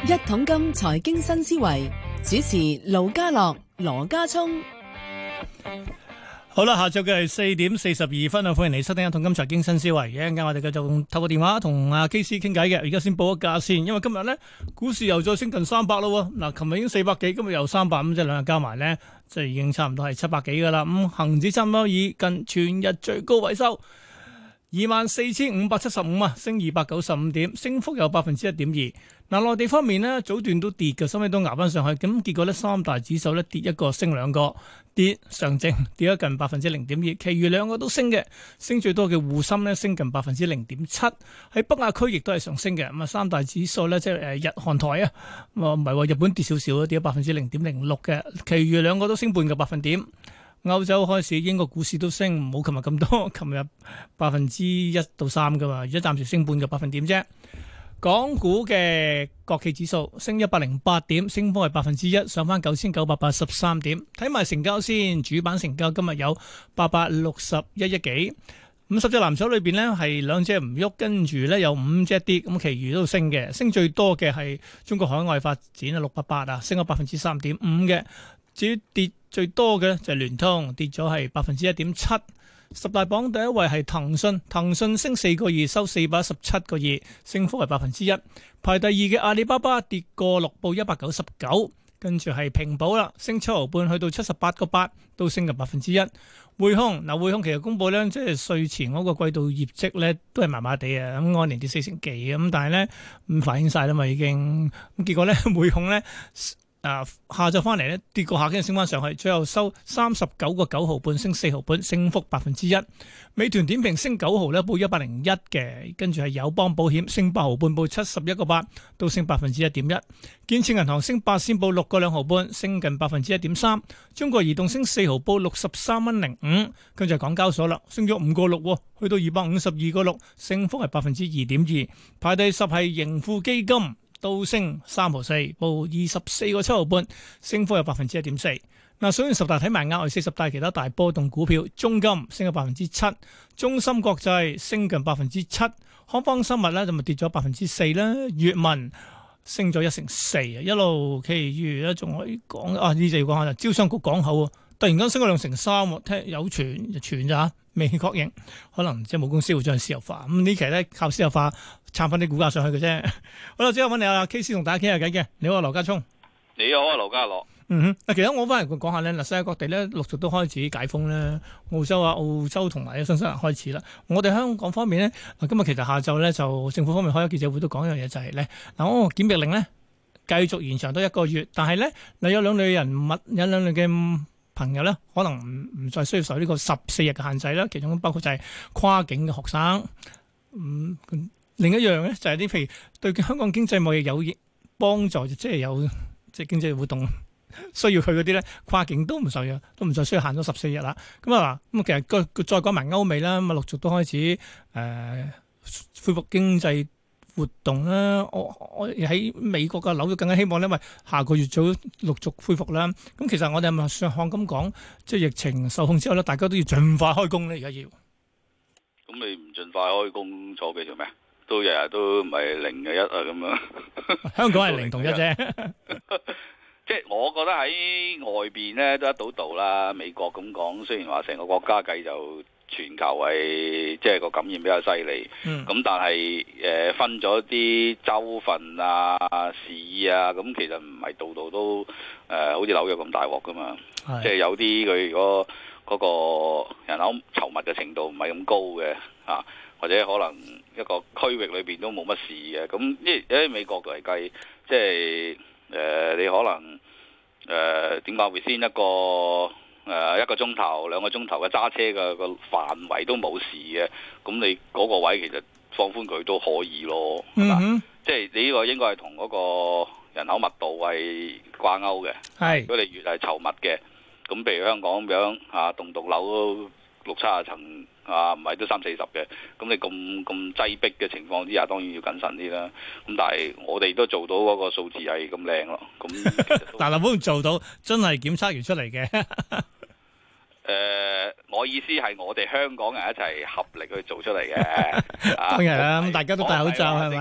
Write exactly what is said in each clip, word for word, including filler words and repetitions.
一桶金財經新思維，主持盧家樂、羅家聰。 好啦，下晝嘅係四點四十二分啊！歡迎你收聽一桶金財經新思維。一陣間我哋繼續透過電話同阿 K C 傾偈嘅。而家先報個價先，因為今日咧股市又再升近三百咯。嗱，琴日已經四百幾，今日又三百，咁即係兩日加埋咧，即係已經差唔多係七百幾噶啦。咁恒指差唔多以近全日最高位收二萬四千五百七十五啊，升二百九十五點，升幅有百分之一點二。嗱，內地方面呢，早段都跌嘅，收尾都捱翻上去，咁結果呢，三大指數呢跌一個，升兩個，跌上證跌咗近百分之零點二，其餘兩個都升嘅，升最多嘅滬深呢升近百分之零點七，喺北亞區亦都係上升嘅，咁啊三大指數呢，即係誒日韓台啊，唔係話日本跌少少，跌咗百分之零點零六嘅，其餘兩個都升半個百分點。歐洲開市，英國股市都升，冇琴日咁多，琴日百分之一到三噶嘛，而家暫時升半個百分點啫。港股嘅國企指數升一百零八點，升幅係百分之一，上翻九千九百八十三點。睇埋成交先，主板成交今日有八百六十一億幾。五十隻藍籌裏邊呢，係兩隻唔喐，跟住呢有五隻跌，咁其餘都升嘅。升最多嘅係中國海外發展啊，六百八啊，升咗百分之三點五嘅。至於跌最多嘅就係聯通，跌咗係百分之一點七。十大榜第一位係騰訊，騰訊升四個二，收四百一十七個二，升幅係百分之一。排第二嘅阿里巴巴跌個六，報一百九十九，跟住係平保啦，升七毫半，去到七十八個八，都升近百分之一。匯控嗱，匯控其實公佈咧，即係稅前嗰個季度業績咧，都係麻麻地啊，咁按年跌四成幾咁，但係咧唔反映晒啦嘛，已經咁結果咧匯控咧。啊，下晝翻嚟咧跌過下，跟住升翻上去，最後收三十九個九毫半，升四毫半，升幅百分之一。美團點評升九毫咧，報一百零一嘅，跟住係友邦保險升八毫半，報七十一個八，都升百分之一點一。建設銀行升八仙，報六個兩毫半，升近百分之一點三。中國移動升四毫，報六十三蚊零五，跟住係港交所啦，升咗五個六，去到二百五十二個六，升幅係百分之二點二。排第十係盈富基金。都升三毫四，報二十四個七毫半，升幅有百分之一點四。嗱，數完十大睇埋額外四十大其他大波動股票，中金升咗百分之七，中芯國際升近百分之七，康方生物咧就咪跌咗百分之四啦，粵文升咗一成四啊，一路其餘咧仲可以講啊，呢就要講下啦，招商局港口突然間升咗兩成三，聽有傳就傳咋，未確認，可能即係冇公司會將私有化。咁呢期咧靠私有化撐翻啲股價上去嘅啫。好啦，之後揾你阿 K C 同大家傾下偈嘅。你好，羅家聰。 你好啊，盧家樂。 嗯哼，嗱，其實我翻嚟講下咧，嗱，世界各地咧陸續都開始解封咧，澳洲啊、澳洲同埋新西蘭開始啦。我哋香港方面咧，嗱，今日其實下晝咧就政府方面開咗記者會都講一樣嘢，就係咧嗱，我檢疫令咧繼續延長多一個月，但係咧嗱有兩類人物，有兩類嘅朋友咧，可能唔唔再需要受呢個十四日嘅限制啦。其中包括就係跨境嘅學生。嗯，另一樣咧就係啲譬如對香港經濟貿易有幫助，即係有即係經濟活動需要去嗰啲咧，跨境都唔受嘅，都唔再需要限咗十四日啦。咁啊嗱，咁其實個再講埋歐美啦，咁啊陸續都開始誒、呃、恢復經濟活動啦。我我喺美國嘅紐約更加希望咧，因為下個月早陸續恢復啦。咁其實我哋係咪上項咁講，即係疫情受控之後咧，大家都要盡快開工咧？而家要咁你唔盡快開工坐幾做咩？都日日都唔係零嘅一啊咁樣。 香港係零同一啫。 即係我覺得喺外邊咧都一到道啦。美國咁講，雖然話成個國家計就全球係即係個感染比較犀利，咁、嗯、但係誒、呃、分咗啲州份啊、市啊，咁其實唔係度度都誒、呃、好似紐約咁大鑊噶嘛。是即係有啲佢如果嗰個人口稠密嘅程度唔係咁高嘅啊，或者可能一個區域裏邊都冇乜事嘅，咁因為喺美國嚟計，即係誒、呃、你可能誒點講會先一個誒、呃、一個鐘頭兩個鐘頭嘅揸車嘅個範圍都冇事嘅，咁你嗰個位其實放寬佢都可以咯，係嘛？嗯、哼即係你呢個應該係同嗰個人口密度係掛鈎嘅，係是如果你越係稠密嘅。咁譬如香港咁樣嚇，棟棟樓都六七十層啊，唔係都三四十嘅。咁你咁咁擠迫嘅情況之下，當然要謹慎啲啦。咁但係我哋都做到嗰個數字係咁靚咯。咁但係會唔會做到真係檢測完出嚟嘅？ 誒、呃，我意思係我哋香港人一齊合力去做出嚟嘅。當然啦，咁大家都戴口罩係咪？ 政府做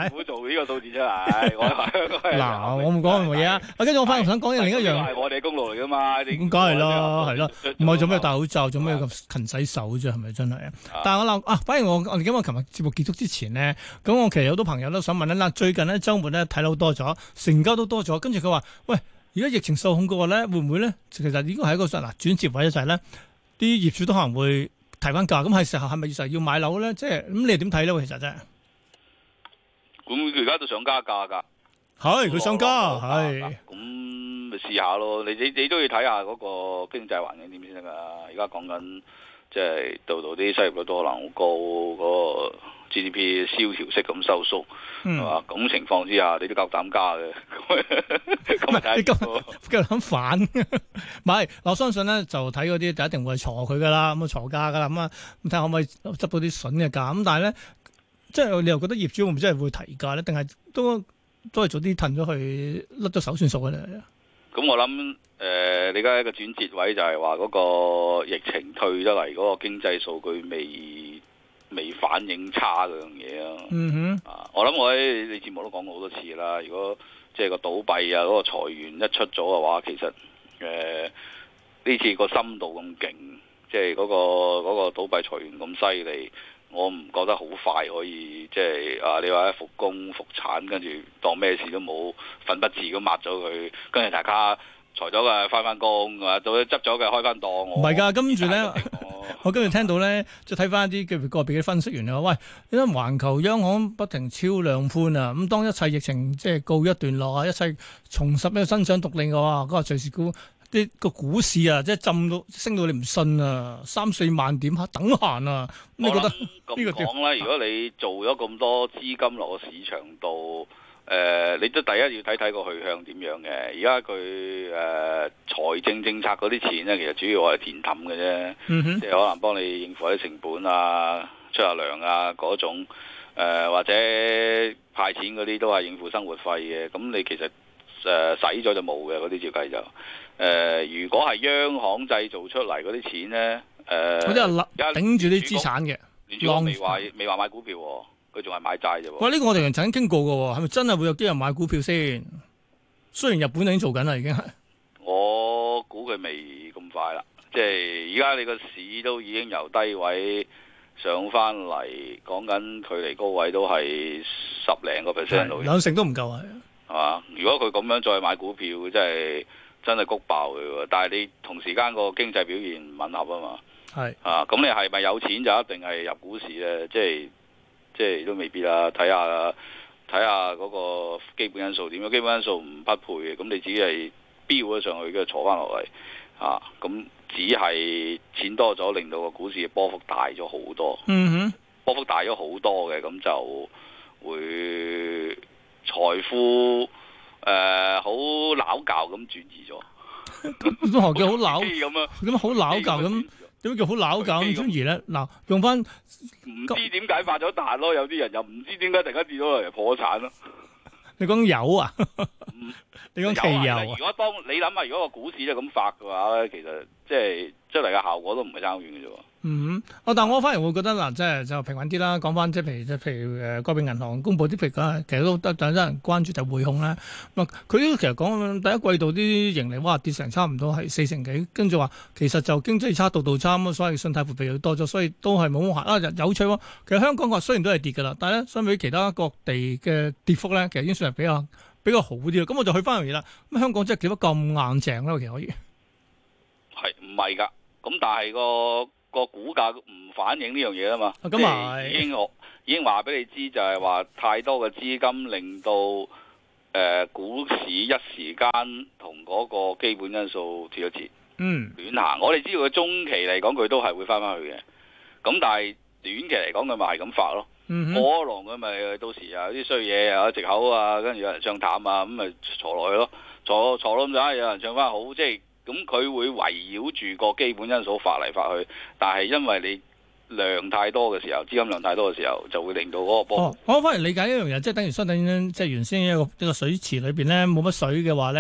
呢個數字出嚟。我話嗱，我唔講咁嘅嘢啊。啊，跟住我翻嚟想講另一樣， 係我哋公路嚟噶嘛？ 咁梗係啦，係啦，唔係做咩戴口罩，做咩咁勤洗手啫？係咪真係啊？但係我諗啊，反而我我哋今日琴日節目結束之前咧，咁我其實有好多朋友都想問咧，嗱，最近咧週末咧睇樓多咗，成交都多咗，跟住佢話：喂，而家疫情受控嘅話咧，會唔會咧？其實應該係一個嗱轉接位就係咧，啲業主都可能會提翻價，咁係時候係咪實要買樓咧？即係咁，你哋點睇咧？其實真係。 咁佢而家都想加價㗎， 係佢想加，係咁咪試下咯。你你你都要睇下嗰個經濟環境點先得㗎。而家講緊即係度度啲失業率都可能好高，嗰、嗰個 G D P 蕭條式咁收縮，係嘛、嗯？咁情況之下，你都夠膽加嘅。咁咪睇夠夠膽反？唔係，我相信咧就睇嗰啲就一定會係鋤佢㗎啦，咁啊鋤價㗎啦，咁啊咁睇下可唔可以執到啲筍嘅價。咁但係咧。即係你又覺得業主會唔會真係會提價咧？定係都都係早啲褪咗去甩咗手算數嘅咧？ 咁我諗誒、呃，你而家一個轉折位就係話嗰個疫情退得嚟，嗰個經濟數據未未反映差嗰樣嘢啊。嗯哼，啊，我諗我喺你節目都講過好多次啦。如果即係個倒閉啊，嗰、嗰個裁員一出咗嘅話，其實誒呢、呃、次個深度咁勁，即係嗰、嗰個嗰、嗰個倒閉裁員咁犀利。我唔覺得好快可以即係啊！你話復工復產，跟住當咩事都冇，粉筆字咁抹咗佢，跟住大家裁咗嘅翻翻工，啊到咗執咗嘅開翻檔。唔係㗎，跟住咧， 我跟住聽到咧，即係睇翻一啲嘅個別嘅分析員啊，喂，因為環球央行不停超量寬啊，咁當一切疫情即係告一段落啊，一切重拾一個增長獨領嘅話，嗰個隨時股。啲個股市啊，即係浸到升到你唔信啊，三四萬點嚇等閒啊！你覺得呢個講啦？如果你做咗咁多資金落個市場度，誒、呃，你都第一要睇睇個去向點樣嘅。而家佢誒財政政策嗰啲錢咧，其實主要我係填氹嘅啫，嗯、哼即係可能幫你應付啲成本啊、出下糧啊嗰種，誒、呃、或者派錢嗰啲都係應付生活費嘅。咁你其實誒使咗就冇嘅嗰啲照計就。誒、呃，如果係央行製造出嚟嗰啲錢咧，誒、呃， 嗰啲係頂住啲資產嘅， 聯儲未話未話買股票，佢仲係買債啫。 喂，呢、這個我哋曾經傾過嘅，係咪真係會有啲人買股票先？雖然日本已經做緊啦，已經係。 我估佢未咁快啦，即係而家你個市都已經由低位上翻嚟，講緊距離高位都係十零個 percent 度， 兩成都唔夠啊， 係嘛？如果佢咁樣再買股票，真係。真係谷爆佢喎，但係你同時間個經濟表現唔吻合啊嘛，係是啊，咁你係咪有錢就一定係入股市咧？即係即係都未必啦，睇下睇下嗰個基本因素點樣，基本因素唔匹配嘅，咁你只係飆咗上去，跟住坐翻落嚟啊，咁只係錢多咗，令到個股市嘅波幅大咗好多，嗯哼，波幅大咗好多嘅，咁就會財富。誒，好撈教咁轉移咗， 咁何叫好撈咁啊？咁好撈教咁，點叫好撈教咁轉移咧？嗱，用翻唔知點解發咗彈咯，有啲人又唔知點解突然間跌咗落嚟破產咯。 你講油啊？你講汽油啊？ 如果當你諗下，如果個股市都咁發嘅話咧，其實即係出嚟嘅效果都唔係差好遠嘅啫。 嗯，哦，但我反而會覺得嗱，即係就平穩啲啦。講翻即係譬如即係譬如誒，個別銀行公佈啲譬如講，其實都得等人關注就匯控啦。咁佢其實講第一季度啲盈利哇跌成差唔多係四成幾，跟住話其實就經濟差度度差咁，所以信貸撥備又多咗，所以都係冇乜行啊。有趣喎，其實香港話雖然都係跌㗎啦，但係咧相比其他各地嘅跌幅咧，其實已經算係比較比較好啲啦。咁我就去翻樣嘢啦。咁香港真係點解咁硬淨咧？其實可以係唔係㗎？咁但係個。個股價唔反映呢樣嘢啊嘛，即係已經我已經話俾你知，就係話太多嘅資金令到誒、呃、股市一時間同嗰個基本因素脫咗節，嗯，亂行。我哋知道佢中期嚟講，佢都係會翻翻去嘅。咁但係短期嚟講，佢咪係咁發咯。過龍佢咪到時啊啲衰嘢啊藉口啊，跟住有人唱淡啊，咁咪坐落去咯，坐坐到咁上下，有人唱翻好，即係。咁佢會圍繞住個基本因素發嚟發去，但係因為你量太多嘅時候，資金量太多嘅時候，就會令到嗰個波。 哦，我反而理解一樣嘢，即係等於相等於即係原先一個一個水池裏邊咧冇乜水嘅話咧，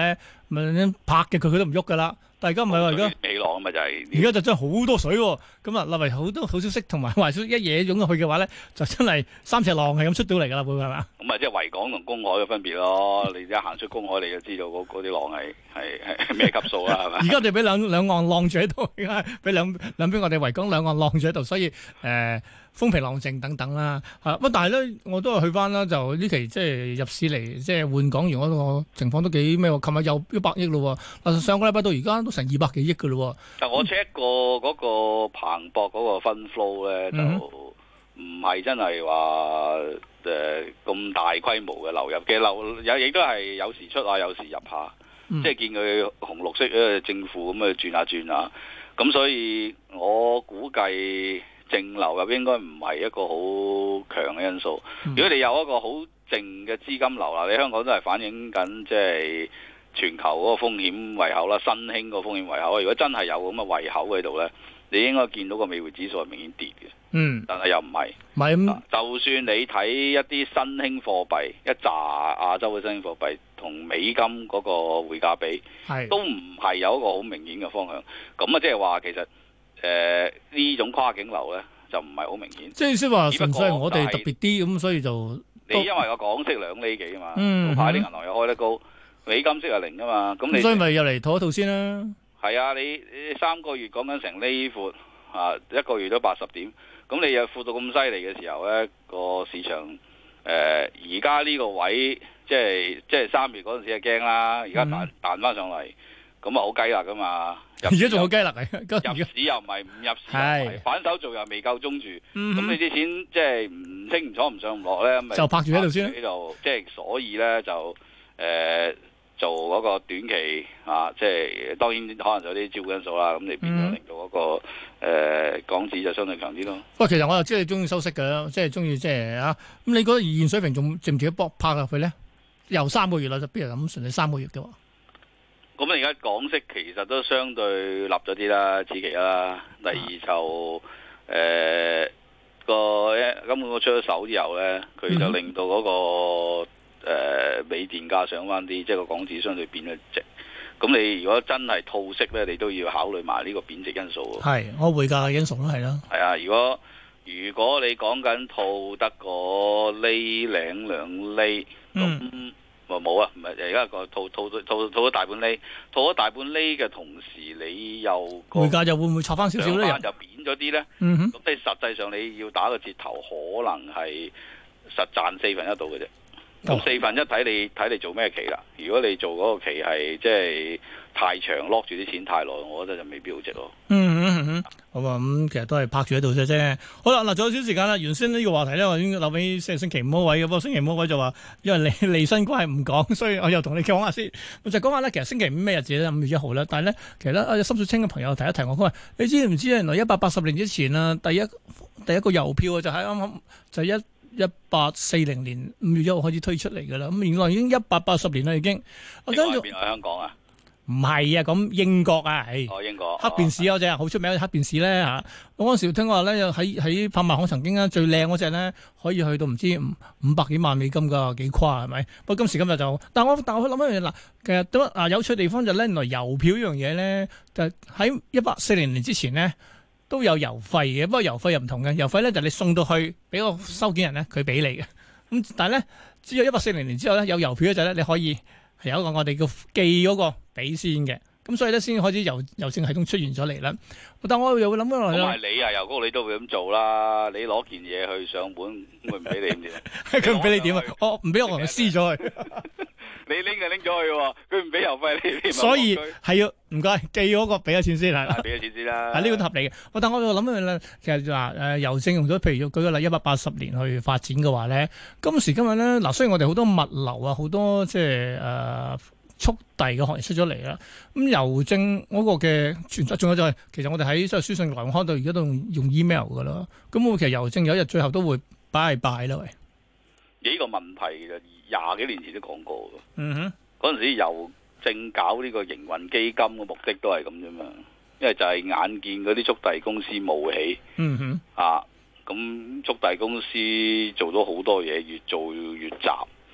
咪拍嘅佢佢都唔喐噶啦。但係而家唔係喎，而家尾浪咪就係而家就真係好多水喎。咁啊，立為好多好消息同埋壞消息一嘢湧入去嘅話咧，就真係三尺浪係咁出到嚟㗎啦，會係嘛？ 咁啊，即係維港同公海嘅分別咯。你一行出公海，你就知道嗰嗰啲浪係係係咩級數啦，係嘛？ 而家我哋俾兩兩岸浪住喺度，而家俾兩兩邊我哋維港兩岸浪住喺度，所以誒、呃、風平浪靜等等啦。嚇、啊、乜？但係咧，我都係去翻啦。就呢期即係入市嚟，即係換港元嗰個情況都幾咩喎？琴日又一百億咯喎，上個禮拜到而家都成二百幾億㗎咯喎。 但我 check 過嗰個彭博嗰個分 flow 咧，就唔係真係話誒咁大規模嘅流入嘅流，有亦都係有時出啊，有時入下，嗯、即係見佢紅綠色誒正負咁啊轉下轉下，咁所以我估計淨流入應該唔係一個好強嘅因素。嗯、如果你有一個好淨嘅資金流啦，你香港都係反映緊即係全球嗰個風險胃口啦，新興個風險胃口。如果真係有咁嘅胃口喺度咧，你應該見到個美匯指數係明顯跌嘅。嗯，但係又唔係，唔係咁。就算你睇一啲新興貨幣，一紮亞洲嘅新興貨幣同美金嗰個匯價比，係都唔係有一個好明顯嘅方向。咁啊，即係話其實誒呢、呃、種跨境流咧就唔係好明顯。即係先話純粹係我哋特別啲咁，所以就你因為個港息兩厘幾啊嘛，嗯，早排啲銀行又開得高，美金息係零啊嘛，咁你所以咪入嚟套一套先啦。係啊，你你三個月講緊成厘闊啊，一個月都八十點。咁你又闊到咁犀利嘅時候咧，個市場誒而家呢個位，即係即係三月嗰陣時係驚啦，而家彈彈翻上嚟，咁啊好雞肋噶嘛！而家仲好雞肋嚟，入市又唔係唔入市又唔係，反手做又未夠鐘住，咁、嗯、哼你啲錢即係唔清唔楚唔上唔落咧，咪就拍住喺度先。喺度即係所以咧就誒。呃做嗰個短期啊，即係當然可能有啲招股因素啦，咁你變咗令到嗰個誒、呃、港紙就相對強啲咯。不過其實我又知你中意收息嘅，即係中意即係啊。咁你覺得現水平仲值唔值得搏拍入去咧？又三個月啦，就邊人咁順利三個月嘅喎？咁而家港息其實都相對立咗啲啦，此其啦。第二就誒個根本我出咗手之後咧，佢就令到嗰、那個。嗯誒、呃、美電價上翻啲，即係個港紙相對變咗值。咁你如果真係套息咧，你都要考慮埋呢個貶值因素。係，我匯價嘅因素都係啦。係啊，如果如果你講緊套得個厘零兩厘，咁咪冇啊？唔係而家個套套套套咗大半厘，套咗大半厘嘅同時，你又匯價就會唔會插翻少少咧？就貶咗啲咧。嗯哼。咁你實際上你要打個折頭，可能係實賺四分一度嘅啫。咁四分一睇你睇你做咩期啦？如果你做嗰個期係即係太長，lock 住啲錢太耐，我覺得就未必好值咯。嗯嗯嗯，好啊，咁、嗯、其實都係拍住喺度啫啫。好啦，嗱，仲有少少時間啦。原先呢個話題咧，我已經留俾星星期五嗰位嘅，不過星期五嗰位就話因為利利新關係唔講，所以我又同你講下先。我就講下咧，其實星期五咩日子咧？五月一號啦。但係咧，其實咧，有深水清嘅朋友提一提我，佢話你知唔知原來一百八十年之前啊，第一第一個郵票啊，就喺啱啱就一。一八四零年五月一號開始推出嚟噶啦，咁原來已經一百八十年啦，已經。我跟住邊喺香港啊？唔係啊，咁英國啊，係。哦，英國。黑便士嗰隻好出名嘅黑便士咧嚇，我嗰陣時聽話咧，喺喺拍賣行曾經咧最靚嗰隻咧，可以去到唔知五五百幾萬美金㗎，幾誇係咪？不過今時今日就，但我但我諗一樣嘢嗱，其實都啊有趣地方就咧，原來郵票呢樣嘢咧，就喺一八四零年之前咧。都有郵費嘅，不過郵費又唔同嘅。郵費咧就係你送到去俾個收件人咧，佢俾你嘅。咁但係咧，只有一八四零年之後咧有郵票嗰陣咧，你可以係有一個我哋叫寄嗰個俾先嘅。咁所以咧先開始郵郵政系統出現咗嚟啦。但我又會諗翻落去啦。咁係你啊，郵局你都會咁做啦。你攞件嘢去上門，會唔俾你點啫？佢唔俾你點啊？我唔俾我同佢撕咗佢。你拎就拎咗去喎，佢唔俾郵費你。所以係要唔該寄嗰個俾咗錢先係。俾咗錢先啦。係呢個合理嘅。但我又諗翻啦，其實話誒郵政用咗，譬如舉個例一百八十年去發展嘅話咧，今時今日咧嗱，雖然我哋好多物流啊，好多即係誒。呃速遞嘅行業出咗嚟啦，咁郵政嗰個嘅存在，仲有就係、是、其實我哋喺即係書信來往到而家都用用 email 噶啦，咁我其實郵政有一日最後都會拜拜啦喂。呢個問題就廿幾年前都講過嘅，嗯哼，嗰陣時郵政搞呢個營運基金嘅目的都係咁啫嘛，因為就係眼見嗰啲速遞公司冒起，嗯哼，啊，咁速遞公司做咗好多嘢，越做越雜。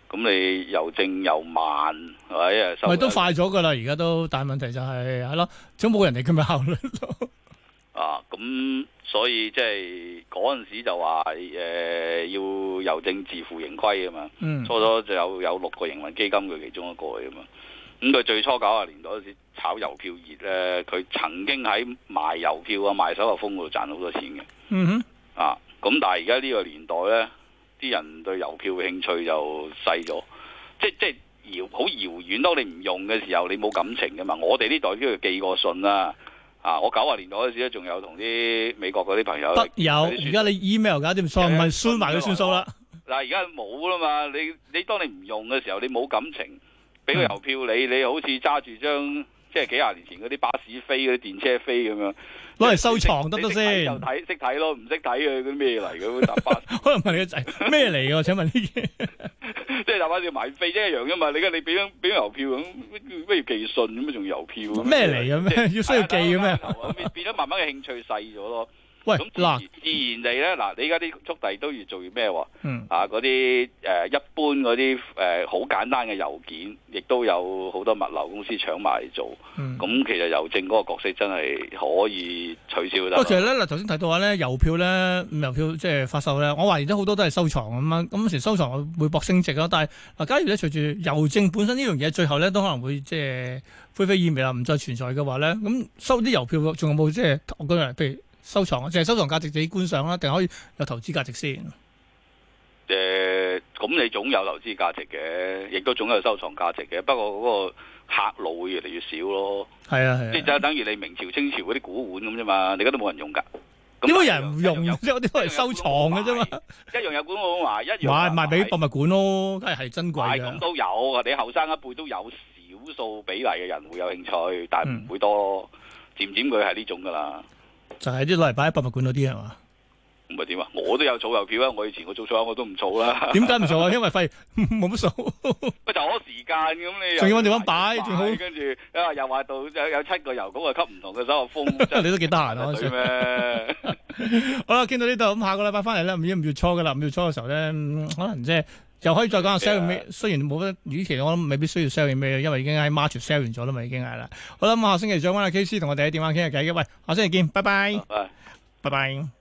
咁你郵政又慢，係咪？ 咪都快咗噶啦，而家都，但係問題就係係咯，總冇人哋咁嘅效率咯。 啊，咁所以即係嗰陣時就話誒、呃、要郵政自負盈虧啊嘛。嗯、初初就有有六個營運基金，佢其中一個嚟啊嘛。咁佢最初九十年代嗰時炒郵票熱咧，佢曾經喺賣郵票啊、賣手信封嗰度賺好多錢嘅。嗯哼。啊，咁但係而家呢個年代咧。啲人對郵票嘅興趣就細咗，即即遙好遙遠。當你唔用嘅時候，你冇感情㗎嘛。我哋呢代都要寄過信啦。啊，我九十年代嗰時咧，仲有同啲美國嗰啲朋友得有。而家你 email 搞掂數，唔係輸埋佢算數啦。 嗱，而家冇啦嘛。你你當你唔用嘅時候，你冇感情，俾個郵票你，你好似揸住張即係幾廿年前嗰啲巴士飛、嗰啲電車飛咁樣。攞嚟收藏得唔得先？ 就睇識睇咯，唔識睇嘅嗰啲咩嚟嘅搭巴士。 可能問你個仔咩嚟嘅？請問呢嘢？ 即係搭巴士買飛啫一樣啫嘛。你而家你俾張俾張郵票咁，咩要寄信咁啊？仲郵票咩嚟嘅咩？要需要寄嘅咩？ 變變咗慢慢嘅興趣細咗咯。 喂， 咁自然自然地咧，嗱，你而家啲速遞都越做越咩喎？嗯、啊，嗰啲誒一般嗰啲誒好簡單嘅郵件，亦都有好多物流公司搶埋嚟做。咁、嗯、其實郵政嗰個角色真係可以取消得。不過其實咧，嗱頭先提到話咧，郵票咧，郵票即係發售咧，我懷疑都好多都係收藏咁樣。咁時收藏會博升值咯。但係嗱，假如咧隨住郵政本身呢樣嘢，最後咧都可能會即係灰飛煙滅啦，唔再存在嘅話咧，咁收啲郵票仲有冇即係我覺得譬如？收藏啊，淨係收藏價值自己觀賞啦，定可以有投資價值先？誒、 呃，咁你總有投資價值嘅，亦都總有收藏價值嘅。不過嗰個客路會越嚟越少咯。係啊係啊，即係就等於你明朝清朝嗰啲古玩咁啫嘛，你而家都冇人用㗎。 點解人唔用？即係我啲都係收藏嘅啫嘛。 一樣有古玩賣，一樣賣賣俾博物館咯，梗係係珍貴嘅。 咁都有，你後生一輩都有少數比例嘅人會有興趣，但係唔會多咯。漸漸佢係呢種㗎啦。 就係啲攞嚟擺喺博物館嗰啲係嘛？ 唔係點啊？我都有儲郵票啊！我以前我做錯我都唔儲啦。 點解唔做啊？因為費冇乜數。 咪就攞時間咁你。 仲要揾地方擺，仲好。 跟住啊，又話到有有七個郵局啊，吸唔同嘅手續封。 你都幾得閒啊？對咩？好啦，傾到呢度，咁下個禮拜翻嚟咧，唔知五月初嘅啦。五月初嘅時候咧，可能即係又可以再講下 sell 咩？雖然冇乜，與其我諗未必需要 sell 咩，因為已經喺 March sell 完咗啦嘛，已經係啦。好啦，咁下星期再揾阿 K C 同我哋喺電話傾下偈嘅。喂，下星期見，拜拜。拜拜。